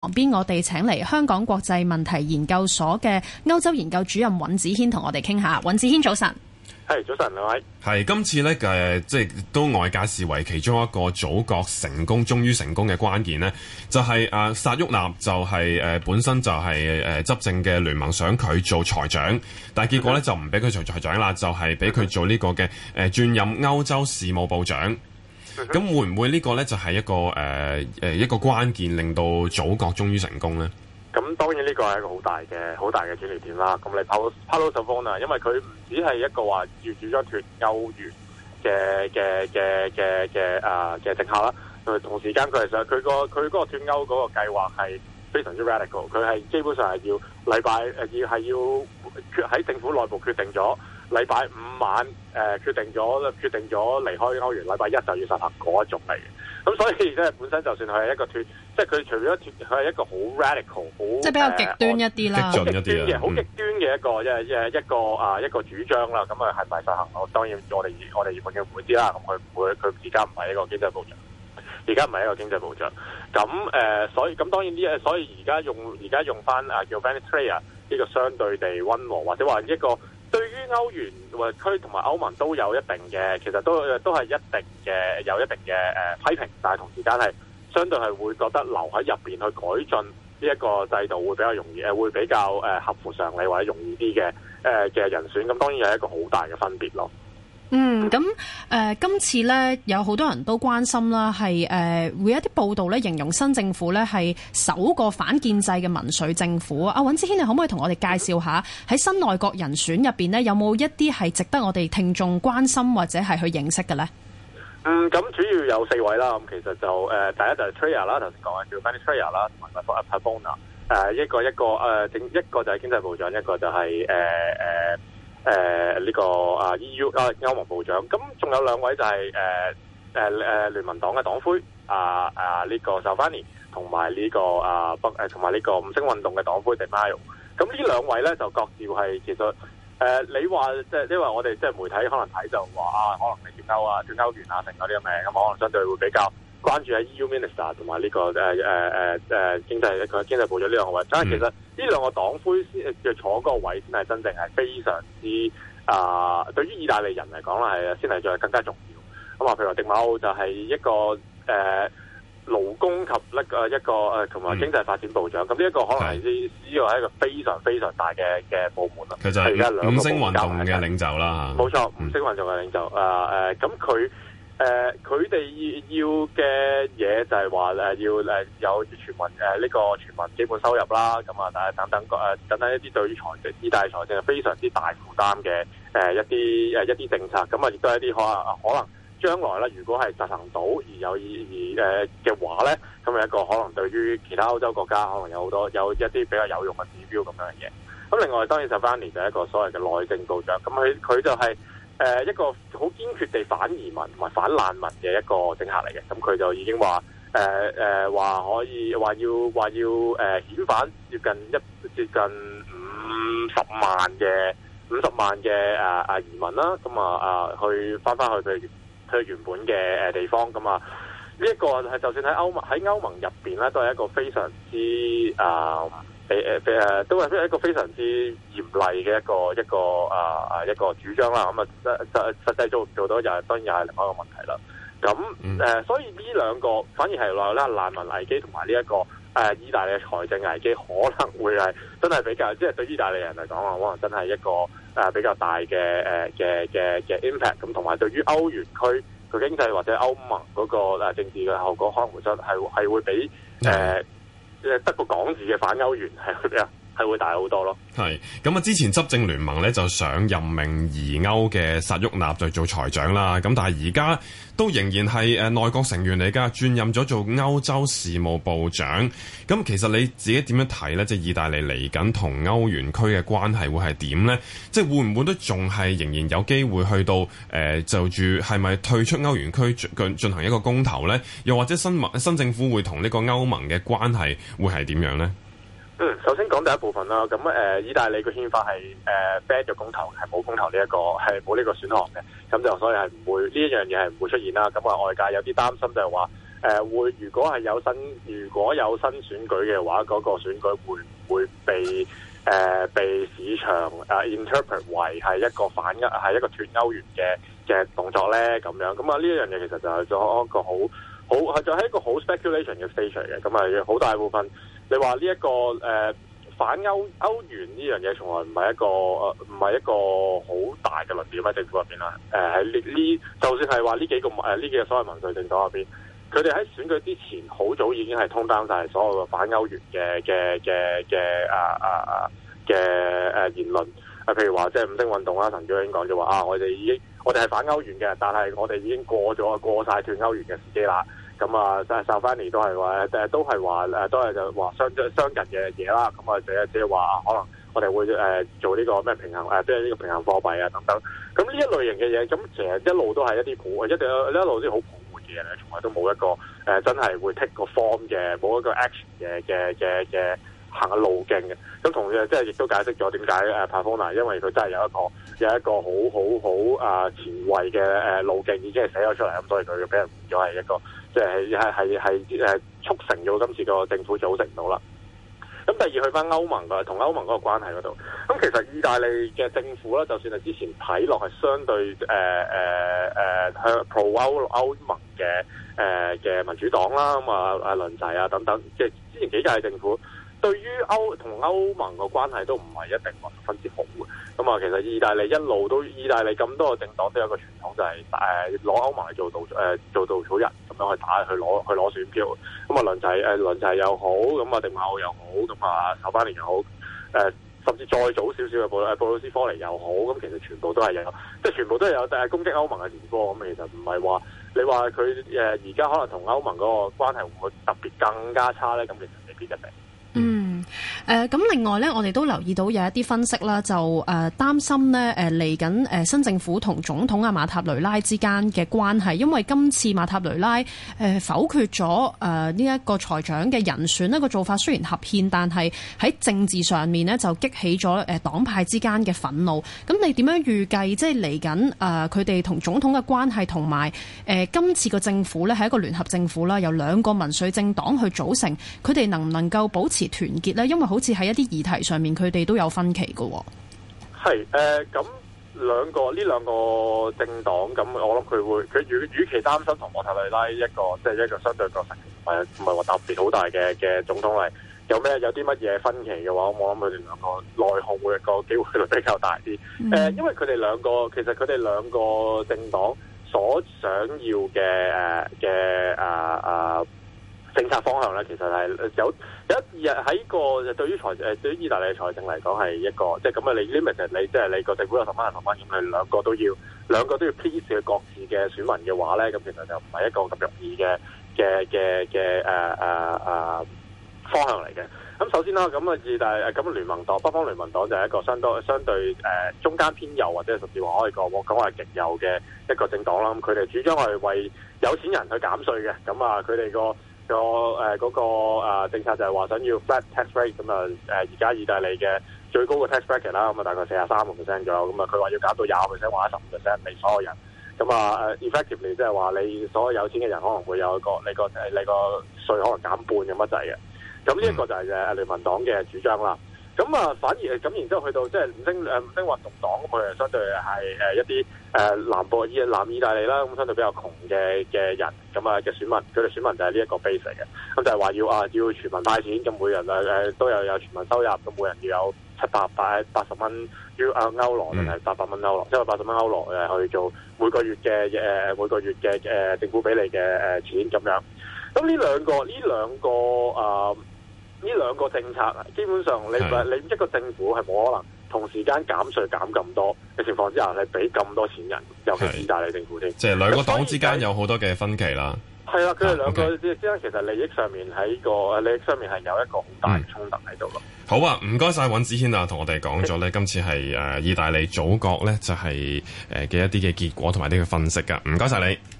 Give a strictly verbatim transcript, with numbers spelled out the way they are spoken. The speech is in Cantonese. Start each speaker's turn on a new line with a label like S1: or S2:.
S1: 旁邊我哋請嚟香港國際問題研究所嘅歐洲研究主任尹子軒同我哋傾下。尹子軒早晨。
S2: 係早晨，兩位。
S3: 係今次咧嘅，即係都外界視為其中一個組閣成功、終於成功嘅關鍵呢就係誒薩沃納就係、是、誒、呃、本身就係、是、誒、呃、執政嘅聯盟想佢做財長，但係結果咧就唔俾佢做財長啦，就係俾佢做呢個嘅誒轉任歐洲事務部長。咁會唔會呢個咧就係一個誒誒、呃、一個關鍵，令到組閣終於成功咧？
S2: 咁當然呢個係一個好大嘅好大嘅轉捩點啦。咁你 Paolo Paolo Savona，因為佢唔只係一個話要主張脫歐元嘅嘅嘅嘅嘅啊嘅政客啦，佢同時間佢係想佢個佢嗰個脫歐嗰個計劃係非常之 radical， 佢係基本上係要禮拜誒要係要喺政府內部決定咗禮拜五晚誒、呃、決定咗決定咗離開歐元，禮拜一就要實行嗰一種嚟嘅。咁所以即係本身就算佢係一個脫，即係佢除咗脫，佢係一個好 radical， 好
S1: 即係比較極端一啲啦，
S3: 激進一啲
S2: 嘅，好極端嘅一個一一一個啊一個主張啦。咁啊係咪實行？我當然我哋我哋永遠唔會知啦。咁佢唔會，佢而家唔係一個經濟部長，而家唔係一個經濟部長。咁誒、呃，所以咁當然呢，所以而家用而家用翻啊叫 Venezuela 呢個相對地溫和，或者話一個。對於歐元或區同埋歐盟都有一定嘅，其實都都係一定嘅有一定嘅誒、呃、批評，但係同時間係相對係會覺得留喺入邊去改進呢一個制度會比較容易，誒會比較誒、呃、合乎常理或者容易啲嘅誒嘅人選，咁當然有一個好大嘅分別咯。
S1: 嗯，咁誒、呃，今次咧有好多人都關心啦，係誒、呃、會有一啲報道咧形容新政府咧係首個反建制嘅民粹政府。阿尹子軒，你可唔可以同我哋介紹下喺新內閣人選入邊咧有冇一啲係值得我哋聽眾關心或者係去認識嘅咧？
S2: 嗯，咁主要有四位啦。咁其實就誒、呃、第一就係 Tria 啦，頭先講嘅叫 Venezuela 啦，同埋 Pavona 誒一個一個誒整、呃、一個就係經濟部長，一個就係誒誒。呃誒、呃、呢、這個啊 E U 啊歐盟部長，咁仲有兩位就係誒誒誒聯盟黨嘅黨魁啊啊呢、這個 Salvini 同埋呢個啊北誒同埋呢個五星運動嘅黨魁 Di Maio。咁呢兩位咧就各自係其實誒、呃、你話即係因為我哋即係媒體可能睇就話啊，可能係脫歐啊脫歐元啊成嗰啲咁嘅，咁可能相對會比較關注喺 E U Minister 同埋呢個誒誒誒誒經濟一個經濟部長呢兩個位，但係其實呢兩個黨魁先嘅坐嗰個位先係真正係非常之啊、呃，對於意大利人嚟講啦係先係再更加重要。咁啊，譬如話迪馬奧就係一個誒、呃、勞工及一個一個誒同埋經濟發展部長，咁呢一個可能係呢呢個係一個非常非常大嘅嘅部門啦。
S3: 佢就係五星運動嘅領袖啦，
S2: 冇錯，五星運動嘅領袖。啊誒，咁佢。誒佢哋要嘅嘢就係話誒要誒有全民誒呢個全民基本收入啦，咁啊，但係等等誒等等一啲對於財政、意大利財政係非常之大負擔嘅誒一啲誒一啲政策，咁啊亦都係一啲可能可能將來咧，如果係實行到而有意而誒嘅話咧，咁係一個可能對於其他歐洲國家可能有好多有一啲比較有用嘅指標咁樣嘅嘢。咁另外當然Salvini就係一個所謂嘅內政部長，咁佢佢就係、是。誒、呃、一個好堅決地反移民同埋反難民嘅一個政客嚟嘅，咁佢就已經話誒誒話可以話要話要誒遣返接近一接近五十萬嘅五十萬嘅啊啊移民啦，咁啊啊去翻翻去佢佢原本嘅誒地方，咁啊呢一個係就算喺歐盟喺歐盟入邊咧，都係一個非常之啊。誒誒誒，都係一個非常之嚴厲嘅一個一個啊啊一個主張啦。咁啊實實實際做唔做到，又係當然又係另外一個問題啦。咁誒、嗯呃，所以呢兩個反而係話咧難民危機同埋呢一個誒、呃、意大利嘅財政危機，可能會係真係比較，即、就、係、是、對意大利人嚟講啊，可能真係一個誒、呃、比較大嘅誒嘅嘅嘅 impact。咁同埋對於歐元區佢經濟或者歐盟嗰個誒政治嘅後果，可能會真係係會比誒。呃嗯誒得個港字嘅反歐元係會比較係會大好多咯。係
S3: 咁啊！之前執政聯盟咧就想任命疑歐嘅薩沃納就做財長啦。咁但係而家都仍然係誒內閣成員嚟㗎，轉任咗做歐洲事務部長。咁其實你自己點樣睇咧？即係意大利嚟緊同歐元區嘅關係會係點咧？即係會唔會都仲係仍然有機會去到誒、呃、就住係咪退出歐元區進進行一個公投咧？又或者新盟新政府會同呢個歐盟嘅關係會係點樣咧？
S2: 嗯，首先講第一部分啦。咁誒、呃，意大利嘅憲法係誒 ban 咗公投，係冇公投呢、這、一個係冇呢個選項嘅。咁就所以係唔會呢一樣嘢係唔會出現啦。咁啊，外界有啲擔心就係話誒會如果係有新如果有新選舉嘅話，嗰、那個選舉會唔會被誒、呃、被市場誒、呃、interpret 為係一個反歐係一個脱歐元嘅嘅動作咧？咁樣咁啊呢一樣嘢其實就係咗一個好好係就係一個好 speculation 嘅 stage 嚟嘅。咁啊好大部分你話呢一個誒。呃反歐歐元呢樣嘢從來唔係一個誒唔係一個好大嘅論點喺政府入邊啦。誒喺呢呢，就算係話呢幾個誒呢、呃、幾個所謂民粹政黨入邊，佢哋喺選舉之前好早已經係通擔晒所有嘅反歐元嘅嘅嘅嘅啊啊啊嘅誒言論。啊，譬如話即係五星運動啦，陳小英講就話啊，我哋已經我哋係反歐元嘅，但係我哋已經過咗過曬脱歐元嘅時機啦。咁啊，即係薩凡尼都係話誒，都係話誒，都係就話相相近嘅嘢啦。咁啊，即係即係話可能我哋會誒做呢個咩平衡誒，即係呢個平衡貨幣啊等等。咁呢一類型嘅嘢，咁其實一路都係一啲普，一定一路啲好普活嘅嘢咧，從來都冇一個誒、呃、真係會 take 個 form 嘅，冇一個 action 嘅嘅嘅嘅行嘅路徑嘅。咁同樣即係亦都解釋咗點解誒帕科納，因為佢真係有一個有一個好好好啊前衛嘅誒路徑已經係寫咗出嚟，咁所以佢俾人誤咗係一個。即係係係係誒促成咗今次個政府組成到啦。咁第二去翻歐盟嘅同歐盟嗰個關係嗰度，咁其實意大利嘅政府咧，就算係之前睇落係相對誒誒誒向 pro 歐歐盟嘅誒嘅民主黨啦，咁啊啊倫齊啊等等，即係之前幾屆政府對於歐同歐盟嘅關係都唔係一定話十分之好嘅。咁啊，其實意大利一路都意大利咁多個政黨都有個傳統，就係誒攞歐盟嚟做稻誒、呃、做稻草人咁樣去打去攞去攞選票。咁啊，倫齊誒倫齊又好，咁啊迪馬奧又好，咁啊薩巴尼又好，誒、呃、甚至再早少少嘅布誒布魯斯科尼又好，咁其實全部都係有，即係全部都係有誒攻擊歐盟嘅前科。咁其實唔係話你話佢誒而家可能同歐盟嗰個關係會唔會特別更加差咧？咁其實未必一定。
S1: 嗯，誒咁另外咧，我哋都留意到有一啲分析啦，就誒擔心咧誒嚟緊誒新政府同總統阿馬塔雷拉之間嘅關係，因為今次馬塔雷拉誒否決咗誒呢一個財長嘅人選，呢個做法雖然合憲，但係喺政治上面呢就激起咗誒黨派之間嘅憤怒。咁你點樣預計即係嚟緊誒佢哋同總統嘅關係，同埋誒今次個政府咧係一個聯合政府啦，由兩個民粹政黨去組成，佢哋能唔能夠保持團結咧？因為好似喺一啲議題上面，佢哋都有分歧嘅。
S2: 係誒，咁兩個呢兩個政黨，咁我諗佢會佢與與其擔心同莫塔雷拉一個即係、就是、一個相對個成唔係唔係話特別好大嘅嘅總統嚟，有咩有啲乜嘢分歧嘅話，我諗佢哋兩個內訌會個機會率比較大啲。誒、嗯呃，因為佢哋兩個其實佢哋兩個政黨所想要嘅誒嘅啊啊。政策方向咧，其實係有有一日喺個對於財誒對於意大利財政嚟講係一個即係咁啊！你 limit 就你即係你個政府有十蚊十蚊咁，佢兩個都要兩個都要 please 佢各自嘅選民嘅話咧，咁其實就唔係一個咁容易嘅嘅嘅嘅誒誒誒方向嚟嘅。咁首先啦，咁啊意大利咁聯盟黨北方聯盟黨就係一個相對相對誒、呃、中間偏右或者甚至話可以講講話極右嘅一個政黨啦。咁佢哋主張係為有錢人去減稅嘅。咁啊，佢哋個個誒嗰個誒政策就係話想要 flat tax rate， 咁啊誒而家意大利嘅最高嘅 tax bracket 啦，咁啊大概四十三個 percent 左右，咁啊佢話要減到廿個 percent 或者十五 percent 俾所有人，咁啊誒 effectively 即係話你所有有錢嘅人可能會有一個你個誒你個稅可能減半咁乜滯嘅，咁呢一個就係誒聯盟黨嘅主張啦。咁啊，反而咁，然之後去到即係五星誒五星運動黨，咁佢係相對係誒一啲誒南部意南意大利啦，咁相對比較窮嘅嘅人，咁啊嘅選民，佢哋選民就係呢一個 base 嚟嘅，咁就係話要啊要全民派錢，咁每人誒誒都有有全民收入，咁每人要有七百八八十蚊要啊歐羅定係八百蚊歐羅，即係八十蚊歐羅誒去做每個月嘅誒每個月嘅誒政府俾你嘅誒錢咁樣。咁呢兩個呢兩個啊。呢兩個政策啊，基本上你你一個政府係冇可能同時間減稅減咁多嘅情況之下，你俾咁多錢人，尤其是意大利政府添。即係兩個黨之間有好多嘅分歧啦。係啦，佢哋兩個之間其實利益上面喺個利益上面係有一個好大嘅衝突喺度咯。好啊，唔該晒尹子軒啊，同我哋講咗咧，今次係誒意大利組閣咧就係誒嘅一啲嘅結果同埋啲嘅分析噶，唔該晒你。